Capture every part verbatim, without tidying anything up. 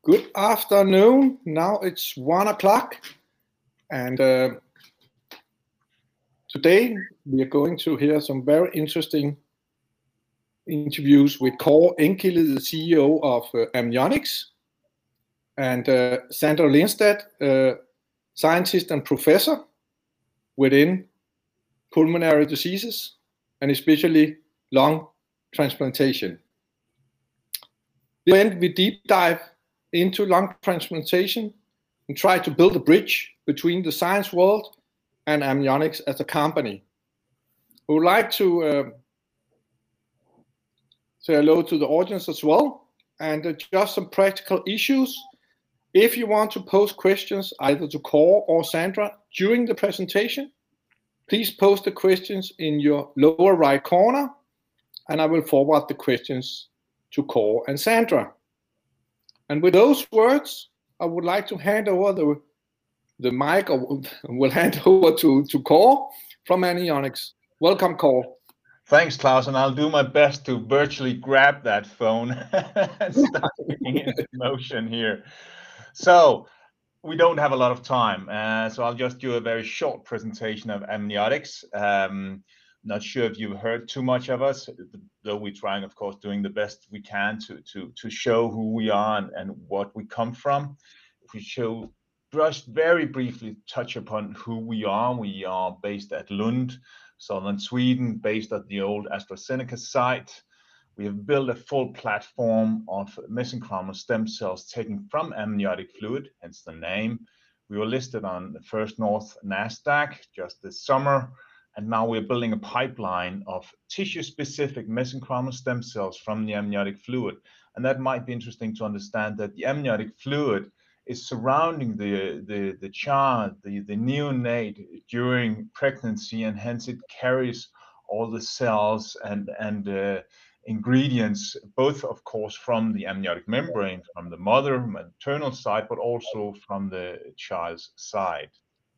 Good afternoon. Now it's one o'clock, and uh, today we are going to hear some very interesting interviews with Kåre Enkilde, the C E O of uh, Amnionics, and uh, Sandra Lindstad, uh, scientist and professor within pulmonary diseases, and especially lung transplantation. Then we deep dive into lung transplantation and try to build a bridge between the science world and Amnionics as a company. We would like to uh, say hello to the audience as well, and uh, just some practical issues. If you want to post questions either to Kåre or Sandra during the presentation, please post the questions in your lower right corner, and I will forward the questions to Kåre and Sandra. And with those words, I would like to hand over the, the mic, or will hand over to, to Kåre from Amnionics. Welcome, Kåre. Thanks, Klaus, and I'll do my best to virtually grab that phone and start getting into motion here. So we don't have a lot of time, uh, so I'll just do a very short presentation of Amnionics. Um, not sure if you've heard too much of us, though we're trying, of course, doing the best we can to to to show who we are and, and what we come from. If we show just very briefly touch upon who we are, we are based at Lund, southern Sweden, based at the old AstraZeneca site. We have built a full platform of mesenchymal stem cells taken from amniotic fluid, hence the name. We were listed on the First North NASDAQ just this summer, and now we're building a pipeline of tissue-specific mesenchymal stem cells from the amniotic fluid. And that might be interesting to understand that the amniotic fluid is surrounding the, the, the child, the, the neonate during pregnancy, and hence it carries all the cells and, and uh, ingredients, both of course from the amniotic membrane, from the mother maternal side, but also from the child's side.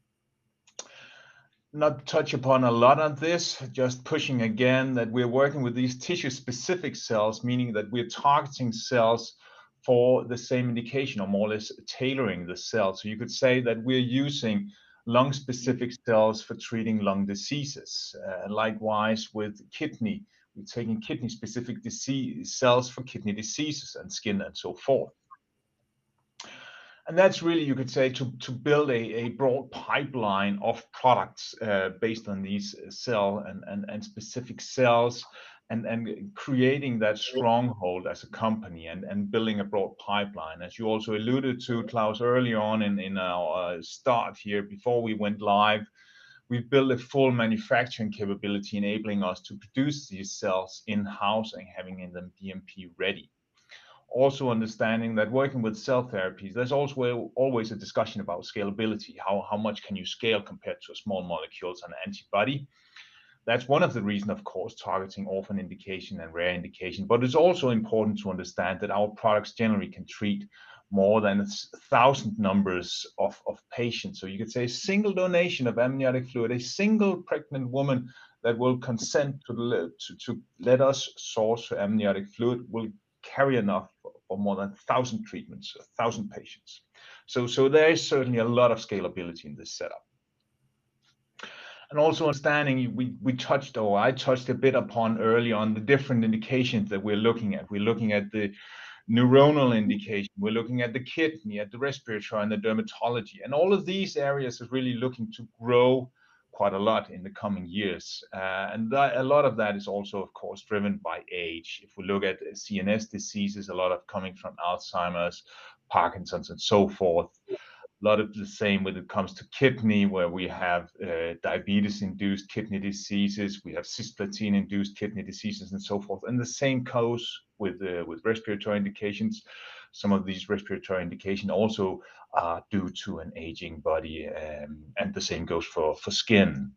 Not touch upon a lot on this, just pushing again that we're working with these tissue-specific cells, meaning that we're targeting cells for the same indication, or more or less tailoring the cell. So you could say that we're using lung-specific cells for treating lung diseases. Uh, likewise with kidney, we're taking kidney-specific disease cells for kidney diseases and skin and so forth. And that's really, you could say, to, to build a, a broad pipeline of products uh, based on these cell and, and, and specific cells, and, and creating that stronghold as a company and, and building a broad pipeline. As you also alluded to, Klaus, early on in, in our uh, start here, before we went live, we've built a full manufacturing capability, enabling us to produce these cells in-house and having them B M P ready. Also understanding that working with cell therapies, there's also always a discussion about scalability. How, how much can you scale compared to a small molecules and antibody? That's one of the reasons, of course, targeting orphan indication and rare indication. But it's also important to understand that our products generally can treat more than a thousand numbers of, of patients. So you could say a single donation of amniotic fluid, a single pregnant woman that will consent to, to, to let us source amniotic fluid will carry enough for more than a thousand treatments, a thousand patients. So, so there is certainly a lot of scalability in this setup. And also understanding, we, we touched, or I touched a bit upon early on, the different indications that we're looking at. We're looking at the neuronal indication, we're looking at the kidney, at the respiratory and the dermatology. And all of these areas is really looking to grow quite a lot in the coming years. Uh, and that, a lot of that is also, of course, driven by age. If we look at C N S diseases, a lot of coming from Alzheimer's, Parkinson's, and so forth. A lot of the same when it comes to kidney, where we have uh, diabetes-induced kidney diseases, we have cisplatin-induced kidney diseases, and so forth. And the same goes with uh, with respiratory indications. Some of these respiratory indications also are due to an aging body, um, and the same goes for for skin.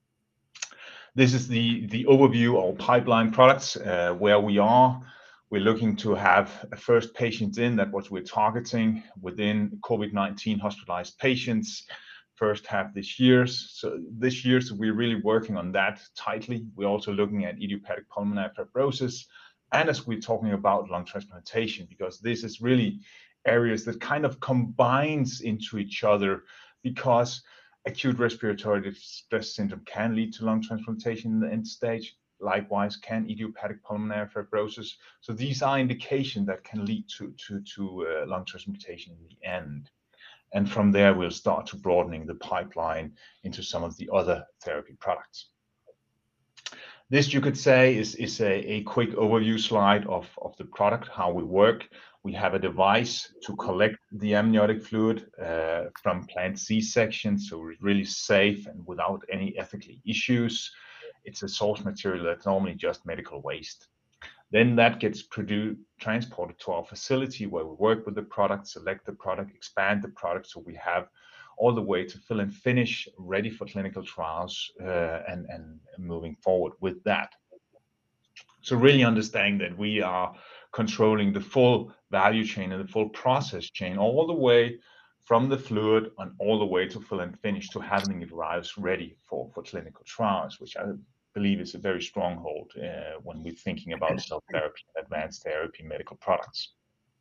This is the the overview of pipeline products, uh, where we are. We're looking to have a first patients in, that what we're targeting within COVID nineteen hospitalized patients, first half this year. So this year, so we're really working on that tightly. We're also looking at idiopathic pulmonary fibrosis, and as we're talking about lung transplantation, because this is really areas that kind of combines into each other, because acute respiratory distress syndrome can lead to lung transplantation in the end stage. Likewise, can idiopathic pulmonary fibrosis. So these are indications that can lead to, to, to uh, lung transplantation in the end. And from there, we'll start to broadening the pipeline into some of the other therapy products. This, you could say, is, is a, a quick overview slide of, of the product, how we work. We have a device to collect the amniotic fluid uh, from planned C-section, so it's really safe and without any ethical issues. It's a source material that's normally just medical waste. Then that gets produced, transported to our facility where we work with the product, select the product, expand the product, so we have all the way to fill and finish, ready for clinical trials, uh, and, and moving forward with that. So really understanding that we are controlling the full value chain and the full process chain, all the way from the fluid and all the way to fill and finish, to having it arrives ready for, for clinical trials, which I believe is a very stronghold uh, when we're thinking about cell therapy, advanced therapy, medical products.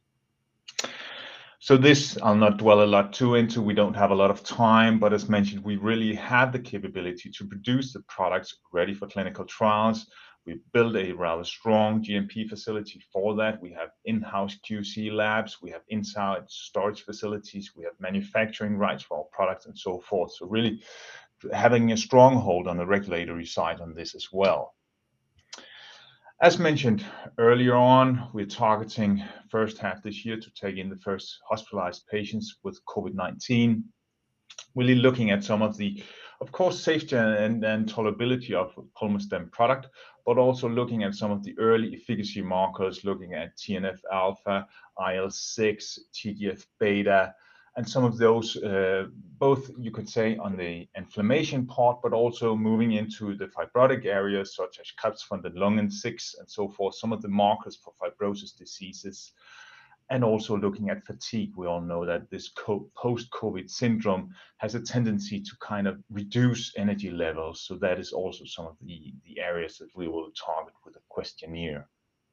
So this I'll not dwell a lot too into. We don't have a lot of time, but as mentioned, we really have the capability to produce the products ready for clinical trials. We built a rather strong G M P facility for that. We have in-house Q C labs, we have inside storage facilities, we have manufacturing rights for our products and so forth. So really having a stronghold on the regulatory side on this as well. As mentioned earlier on, we're targeting first half this year to take in the first hospitalized patients with COVID nineteen. Really looking at some of the, of course, safety and, and tolerability of Pulmostem product, but also looking at some of the early efficacy markers, looking at T N F alpha, I L six, T G F beta, and some of those, uh, both you could say on the inflammation part, but also moving into the fibrotic areas such as Krebs von den Lungen six and so forth, some of the markers for fibrosis diseases, and also looking at fatigue. We all know that this post-COVID syndrome has a tendency to kind of reduce energy levels. So that is also some of the, the areas that we will target with a questionnaire.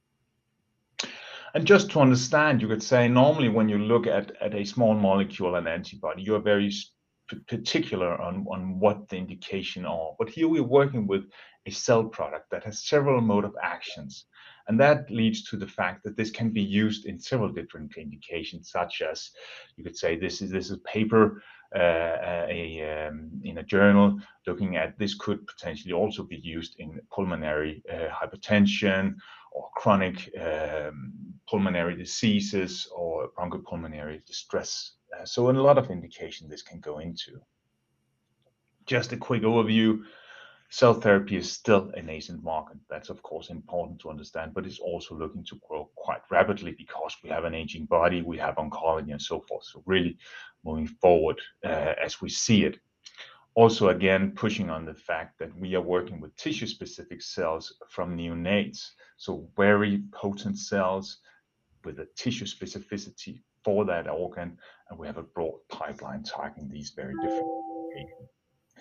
And just to understand, you could say normally when you look at, at a small molecule and antibody, you're very particular on, on what the indication are. But here we're working with a cell product that has several mode of actions. And that leads to the fact that this can be used in several different indications, such as you could say this is this is paper uh, a, um, in a journal looking at this could potentially also be used in pulmonary uh, hypertension or chronic um, pulmonary diseases or bronchopulmonary distress. Uh, so in a lot of indication this can go into. Just a quick overview. Cell therapy is still a nascent market. That's of course important to understand, but it's also looking to grow quite rapidly because we have an aging body, we have oncology and so forth. So really moving forward uh, as we see it. Also, again, pushing on the fact that we are working with tissue-specific cells from neonates. So very potent cells with a tissue specificity for that organ. And we have a broad pipeline targeting these very different applications.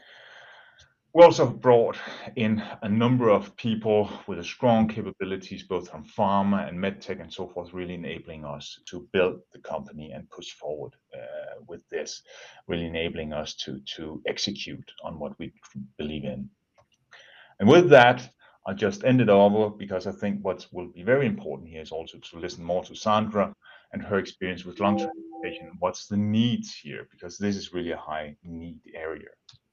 We also brought in a number of people with a strong capabilities, both from pharma and medtech and so forth, really enabling us to build the company and push forward uh, with this, really enabling us to, to execute on what we believe in. And with that, I'll just end it over because I think what will be very important here is also to listen more to Sandra and her experience with lung transplantation. What's the needs here? Because this is really a high need area.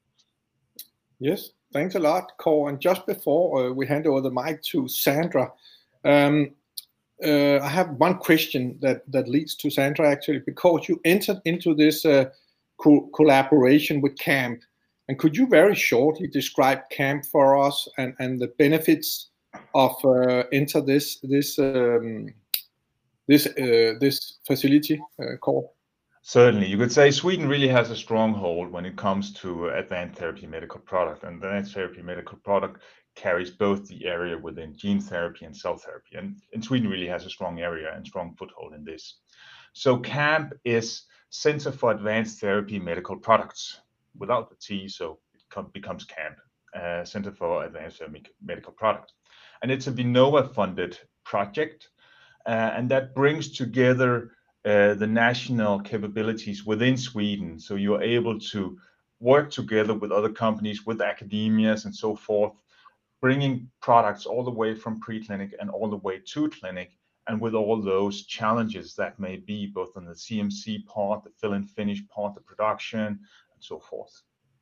Yes, thanks a lot, Kåre. And just before uh, we hand over the mic to Sandra, um, uh, I have one question that, that leads to Sandra actually, because you entered into this uh, co collaboration with CAMP. And could you very shortly describe CAMP for us and, and the benefits of uh, enter this this um, this uh, this facility, uh, Kåre? Certainly, you could say Sweden really has a stronghold when it comes to advanced therapy medical product, and advanced therapy medical product carries both the area within gene therapy and cell therapy, and, and Sweden really has a strong area and strong foothold in this. So CAMP is Center for Advanced Therapy Medical Products, without the T, so it becomes CAMP, uh, Center for Advanced Therapy Medical Products, and it's a Vinnova funded project, uh, and that brings together uh, the national capabilities within Sweden. So you're able to work together with other companies, with academias and so forth, bringing products all the way from preclinic and all the way to clinic, and with all those challenges that may be both on the C M C part, the fill and finish part, the production, and so forth.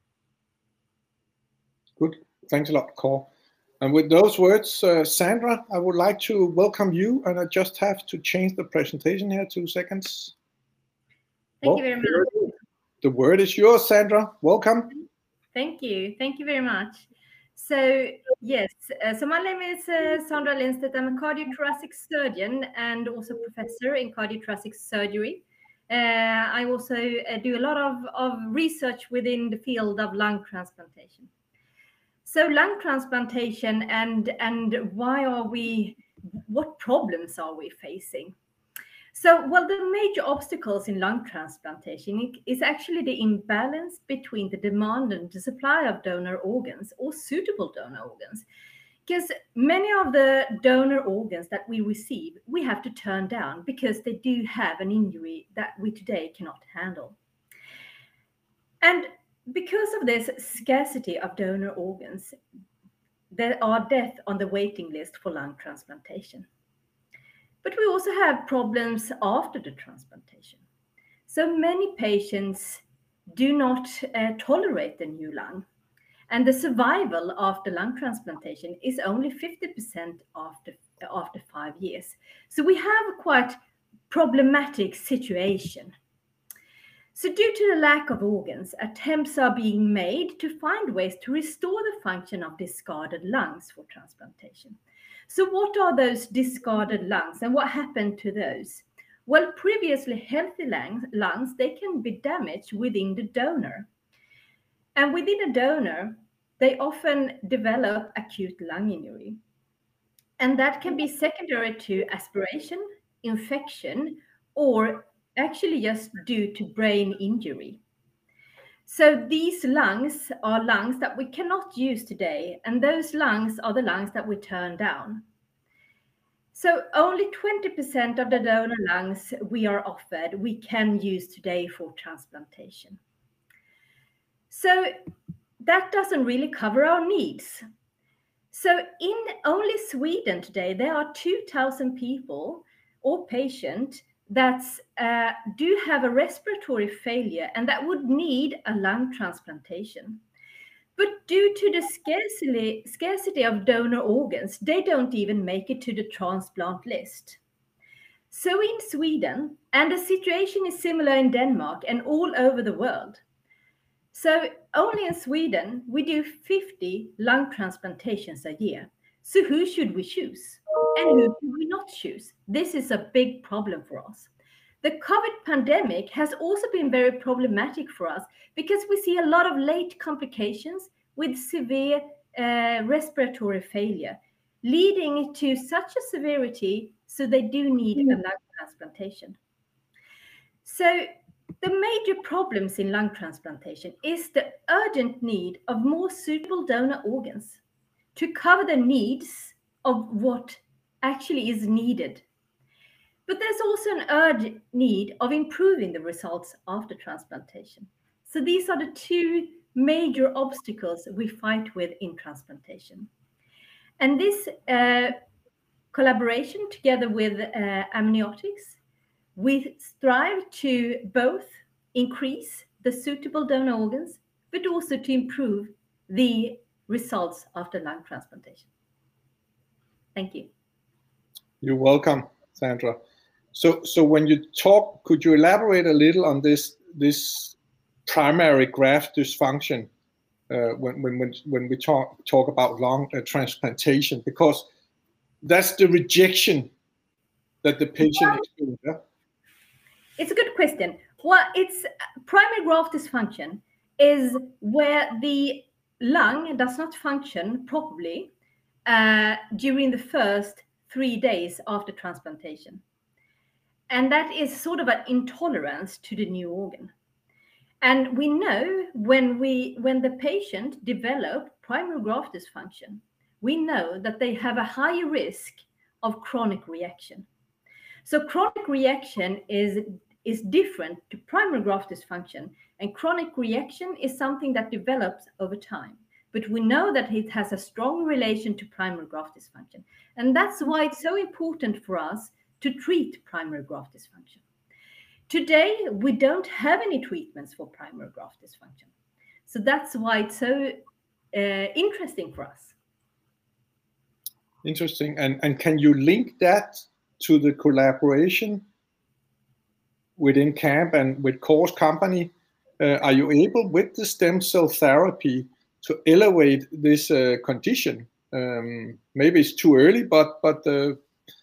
Good. Thanks a lot, Kåre. And with those words, uh, Sandra, I would like to welcome you, and I just have to change the presentation here, two seconds. Thank well, you very much. The word is yours, Sandra. Welcome. Thank you. Thank you very much. So, yes, uh, so my name is uh, Sandra Lindstedt. I'm a cardiothoracic surgeon and also professor in cardiothoracic surgery. Uh, I also uh, do a lot of, of research within the field of lung transplantation. So lung transplantation and, and why are we, what problems are we facing? So, well, the major obstacles in lung transplantation is actually the imbalance between the demand and the supply of donor organs or suitable donor organs. Because many of the donor organs that we receive, we have to turn down because they do have an injury that we today cannot handle. And because of this scarcity of donor organs, there are deaths on the waiting list for lung transplantation. But we also have problems after the transplantation. So many patients do not uh, tolerate the new lung. And the survival after lung transplantation is only fifty percent after, after five years. So we have a quite problematic situation. So due to the lack of organs, attempts are being made to find ways to restore the function of discarded lungs for transplantation. So what are those discarded lungs and what happened to those? Well, previously healthy lungs, lungs, they can be damaged within the donor. And within a donor, they often develop acute lung injury. And that can be secondary to aspiration, infection, or actually just due to brain injury. So these lungs are lungs that we cannot use today, and those lungs are the lungs that we turn down. So only twenty percent of the donor lungs we are offered, we can use today for transplantation. So that doesn't really cover our needs. So in only Sweden today, there are two thousand people or patients that uh, do have a respiratory failure and that would need a lung transplantation. But due to the scarcity, scarcity of donor organs, they don't even make it to the transplant list. So in Sweden, and the situation is similar in Denmark and all over the world. So only in Sweden, we do fifty lung transplantations a year. So who should we choose? And who should we not choose? This is a big problem for us. The COVID pandemic has also been very problematic for us because we see a lot of late complications with severe uh, respiratory failure, leading to such a severity so they do need a lung transplantation. So the major problems in lung transplantation is the urgent need of more suitable donor organs to cover the needs of what actually is needed. But there's also an urgent need of improving the results after transplantation. So these are the two major obstacles we fight with in transplantation. And this uh, collaboration together with uh, Amniotics, we strive to both increase the suitable donor organs, but also to improve the results after lung transplantation. Thank you. You're welcome, Sandra. So, so when you talk, could you elaborate a little on this this primary graft dysfunction uh, when when when we talk talk about lung uh, transplantation? Because that's the rejection that the patient experiences. Yeah? It's a good question. Well, it's primary graft dysfunction is where the lung does not function properly uh, during the first three days after transplantation. And that is sort of an intolerance to the new organ. And we know when we when the patient develops primary graft dysfunction, we know that they have a higher risk of chronic reaction. So chronic reaction is, is different to primary graft dysfunction, and chronic reaction is something that develops over time. But we know that it has a strong relation to primary graft dysfunction. And that's why it's so important for us to treat primary graft dysfunction. Today, we don't have any treatments for primary graft dysfunction. So that's why it's so uh, interesting for us. Interesting. And, and can you link that to the collaboration within CAMP and with Core's company? Uh, are you able, with the stem cell therapy, to elevate this uh, condition? Um, maybe it's too early, but but uh,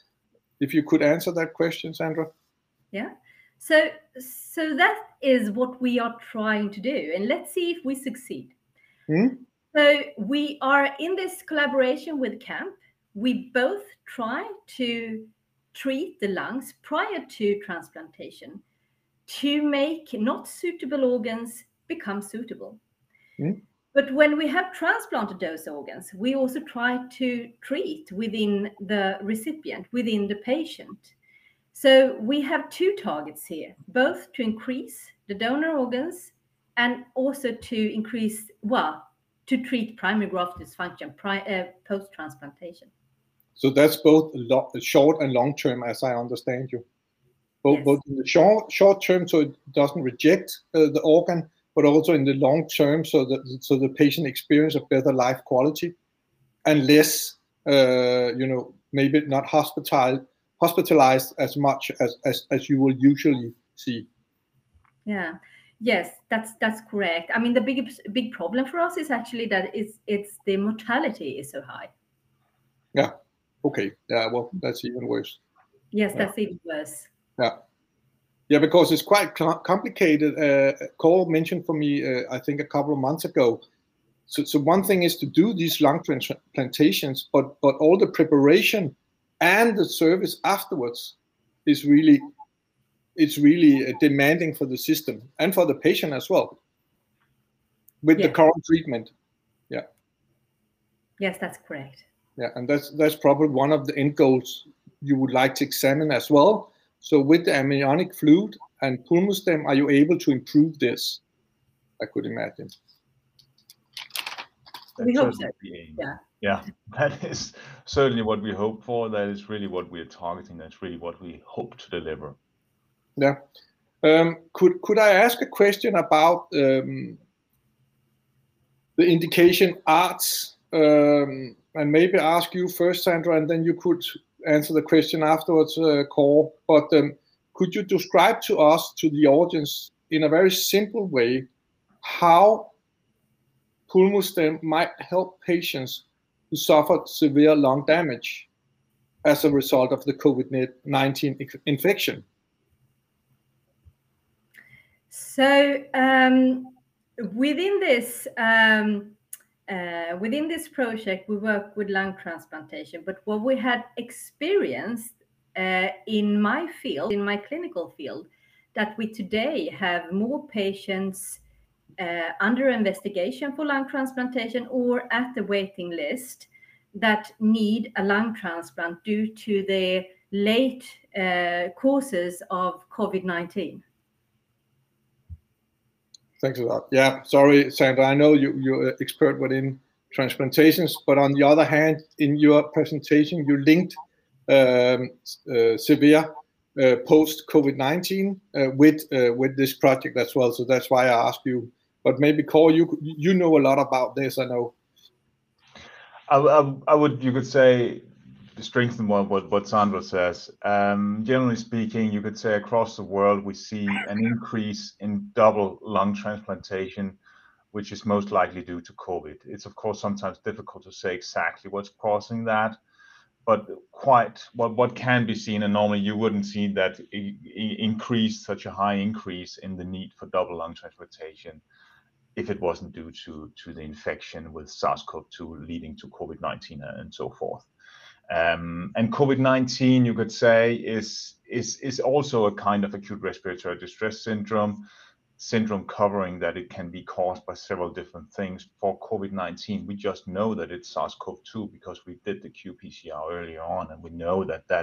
if you could answer that question, Sandra. Yeah. So so that is what we are trying to do, and let's see if we succeed. Hmm? So we are in this collaboration with CAMP. We both try to treat the lungs prior to transplantation to make not suitable organs become suitable. Hmm? But when we have transplanted those organs, we also try to treat within the recipient, within the patient. So we have two targets here, both to increase the donor organs and also to increase, well, to treat primary graft dysfunction uh, post-transplantation. So that's both short and long term, as I understand you. Both, Yes. both in the short, short term, so it doesn't reject uh, the organ, but also in the long term, so that so the patient experience a better life quality and less, uh, you know, maybe not hospital hospitalized as much as, as as you will usually see. Yeah. Yes, that's that's correct. I mean, the big big problem for us is actually that it's it's the mortality is so high. Yeah. Okay. Yeah. Well, that's even worse. Yes, Yeah. that's even worse. Yeah. Yeah, because it's quite complicated. Uh, Cole mentioned for me, uh, I think a couple of months ago. So, so one thing is to do these lung transplantations, but but all the preparation and the service afterwards is really, it's really demanding for the system and for the patient as well. With Yes. the current treatment, yeah. Yes, that's correct. Yeah, and that's that's probably one of the end goals you would like to examine as well. So with the amniotic fluid and pulmostem, are you able to improve this? I could imagine. We hope so. Yeah. Yeah, that is certainly what we hope for. That is really what we are targeting. That's really what we hope to deliver. Yeah. Um, could could I ask a question about um, the indication ARDS, um, and maybe ask you first, Sandra, and then you could answer the question afterwards, uh, Kåre. But um, could you describe to us, to the audience, in a very simple way, how pulmostem might help patients who suffered severe lung damage as a result of the COVID nineteen infection? So um, within this um, uh, within this project, we work with lung transplantation. But what we had experienced uh, in my field, in my clinical field, that we today have more patients uh, under investigation for lung transplantation or at the waiting list that need a lung transplant due to the late uh, causes of COVID nineteen. Thanks a lot. Yeah, sorry, Sandra. I know you, you're an expert within transplantations, but on the other hand, in your presentation, you linked um, uh, severe uh, post-COVID nineteen uh, with uh, with this project as well. So that's why I asked you. But maybe, Kåre, you you know a lot about this. I know. I, I, I would, you could say, strengthen what, what, what Sandra says. Um, generally speaking, you could say across the world, we see an increase in double lung transplantation, which is most likely due to COVID. It's of course sometimes difficult to say exactly what's causing that, but quite what, what can be seen, and normally you wouldn't see that I, I increase, such a high increase in the need for double lung transplantation if it wasn't due to, to the infection with SARS CoV two leading to COVID nineteen and so forth. Um, and COVID nineteen, you could say, is, is, is also a kind of acute respiratory distress syndrome, syndrome covering that it can be caused by several different things. For COVID nineteen, we just know that it's SARS CoV two because we did the Q P C R earlier on, and we know that that's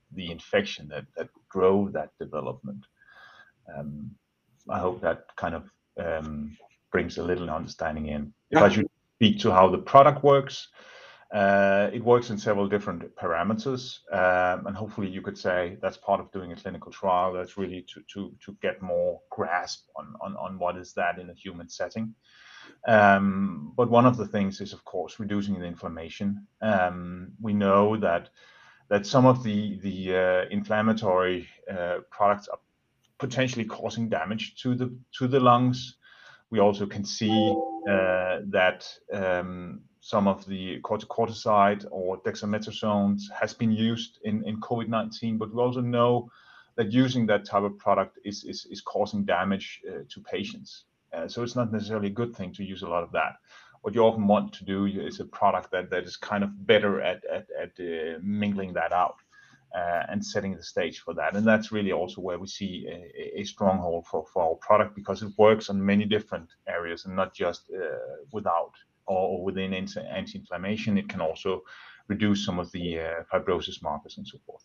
the infection that that drove that development. Um, I hope that kind of um, brings a little understanding in. If Yeah. I should speak to how the product works, uh, it works in several different parameters, um, and hopefully you could say that's part of doing a clinical trial. That's really to to to get more grasp on on on what is that in a human setting. Um, but one of the things is, of course, reducing the inflammation. Um, we know that that some of the the uh, inflammatory uh, products are potentially causing damage to the to the lungs. We also can see uh, that um, some of the corticosteroid or dexamethasone has been used in, in COVID nineteen, but we also know that using that type of product is is, is causing damage uh, to patients. Uh, so it's not necessarily a good thing to use a lot of that. What you often want to do is a product that, that is kind of better at at, at uh, mingling that out. Uh, and setting the stage for that. And that's really also where we see a, a stronghold for, for our product, because it works on many different areas and not just uh, without or within anti-inflammation. It can also reduce some of the uh, fibrosis markers and so forth.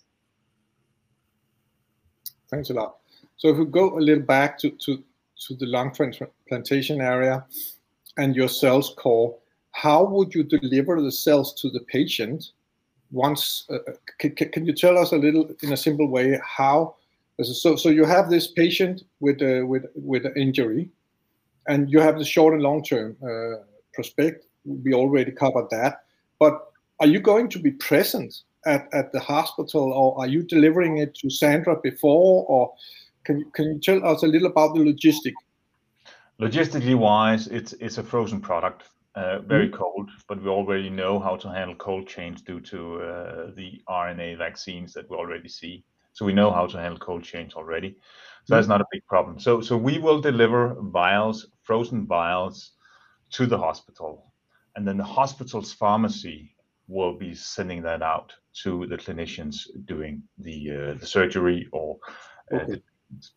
Thanks a lot. So if we go a little back to, to, to the lung transplantation area and your cells core, how would you deliver the cells to the patient? Once, uh, can, can you tell us a little, in a simple way, how? So, so you have this patient with a, with with an injury, and you have the short and long term uh, prospect. We already covered that. But are you going to be present at, at the hospital, or are you delivering it to Sandra before? Or can you can you tell us a little about the logistic? Logistically wise, it's it's a frozen product. Uh, very mm. cold, but we already know how to handle cold chains due to uh, the R N A vaccines that we already see. So we know how to handle cold chains already. So mm. that's not a big problem. So so we will deliver vials, frozen vials, to the hospital, and then the hospital's pharmacy will be sending that out to the clinicians doing the uh, the surgery or. Uh, okay. the...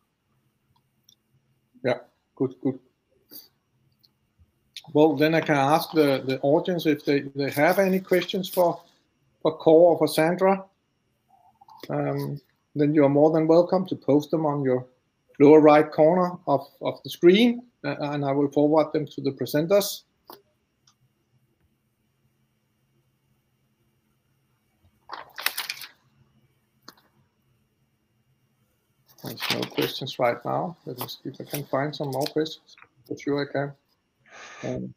Yeah. Good. Good. Well, then I can ask the, the audience if they, they have any questions for, for Kåre or for Sandra. Um, then you are more than welcome to post them on your lower right corner of, of the screen, uh, and I will forward them to the presenters. There's no questions right now. Let me see if I can find some more questions. For sure I can. Um,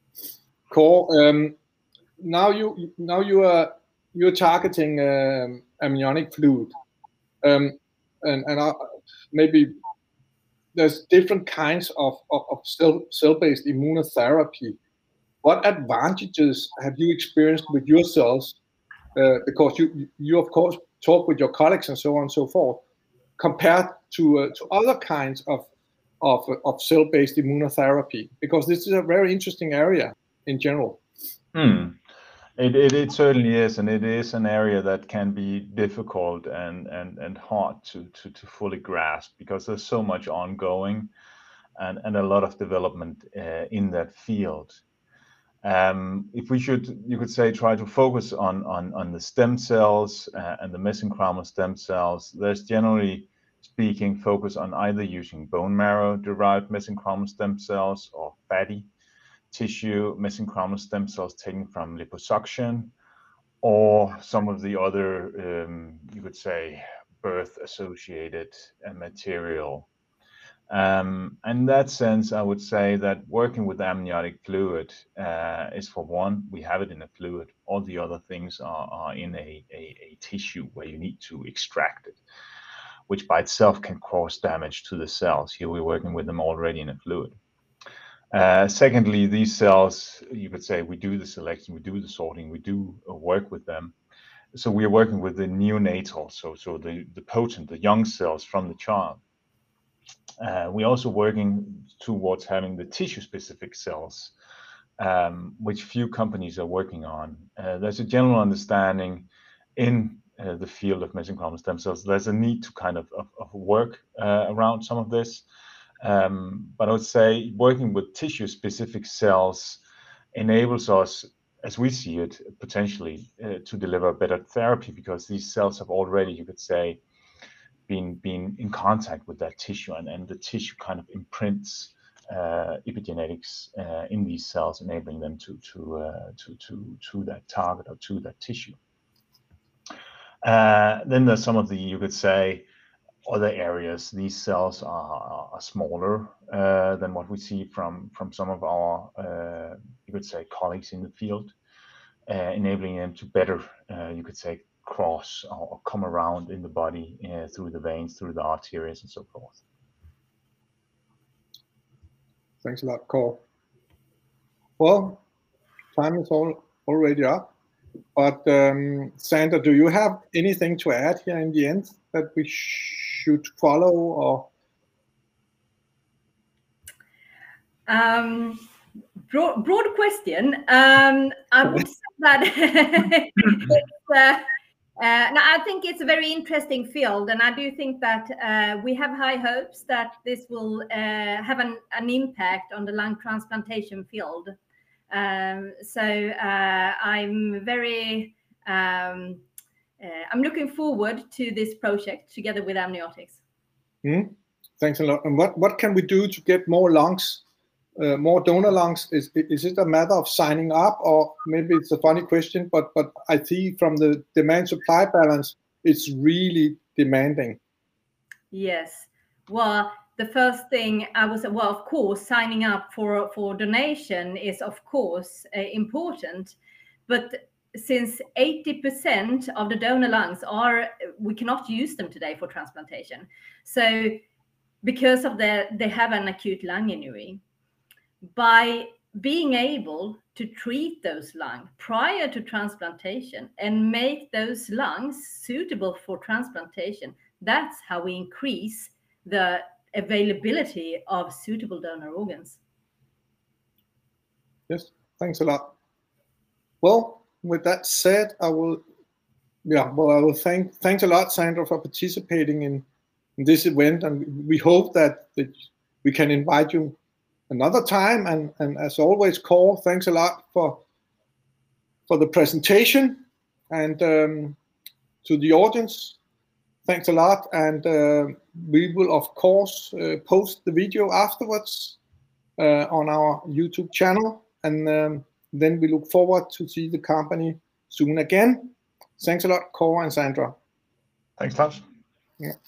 Kåre, um, now you now you are you're targeting um, amniotic fluid, um, and and uh, maybe there's different kinds of of, of cell cell-based immunotherapy. What advantages have you experienced with your cells? Uh, because you you of course talk with your colleagues and so on and so forth, compared to uh, to other kinds of of of cell-based immunotherapy, because this is a very interesting area in general. Hmm. It, it it certainly is, and it is an area that can be difficult and and and hard to to to fully grasp, because there's so much ongoing, and and a lot of development uh, in that field. Um, if we should, you could say, try to focus on on on the stem cells uh, and the mesenchymal stem cells, there's generally speaking focus on either using bone marrow derived mesenchymal stem cells or fatty tissue mesenchymal stem cells taken from liposuction, or some of the other, um, you could say, birth associated uh, material. Um, in that sense, I would say that working with amniotic fluid uh, is, for one, we have it in a fluid. All the other things are, are in a, a, a tissue where you need to extract it, which by itself can cause damage to the cells. Here we're working with them already in a fluid. Uh, secondly, these cells, you could say, we do the selection, we do the sorting, we do uh, work with them. So we are working with the neonatal, so so the, the potent, the young cells from the child. Uh, we're also working towards having the tissue-specific cells, um, which few companies are working on. Uh, there's a general understanding in uh, the field of mesenchymal stem cells. There's a need to kind of, of, of work uh, around some of this. Um, but I would say working with tissue-specific cells enables us as we see it, potentially uh, to deliver better therapy, because these cells have already, you could say, been been in contact with that tissue, and, and the tissue kind of imprints uh, epigenetics uh, in these cells, enabling them to to uh, to to to that target or to that tissue. Uh, then there's some of the, you could say, other areas. These cells are, are smaller uh, than what we see from from some of our uh, you could say colleagues in the field, uh, enabling them to better uh, you could say cross or, or come around in the body uh, through the veins, through the arteries, and so forth. Thanks a lot, Kåre. Well, time is all already up. But um, Sandra, do you have anything to add here in the end that we should follow, or? Um, broad, broad question. Um, I would say that it's, uh, uh, no, I think it's a very interesting field, and I do think that uh, we have high hopes that this will uh, have an, an impact on the lung transplantation field. Um, so uh, I'm very, um, uh, I'm looking forward to this project together with Amniotics. Mm, thanks a lot. And what, what can we do to get more lungs, uh, more donor lungs? Is, is it a matter of signing up, or maybe it's a funny question, but, but I see from the demand supply balance, it's really demanding. Yes. Well, the first thing I was, well, of course, signing up for, for donation is, of course, uh, important. But since eighty percent of the donor lungs are, we cannot use them today for transplantation. So because of the, they have an acute lung injury, by being able to treat those lungs prior to transplantation and make those lungs suitable for transplantation, that's how we increase the availability of suitable donor organs. Yes, thanks a lot. Well, with that said, I will, yeah, well, I will thank, thanks a lot, Sandra, for participating in, in this event, and we hope that, that we can invite you another time. And, and as always, Kåre, thanks a lot for for the presentation, and um, to the audience, thanks a lot. And uh, we will, of course, uh, post the video afterwards uh, on our YouTube channel, and um, then we look forward to see the company soon again. Thanks a lot, Kåre and Sandra. Thanks, Lars. Yeah.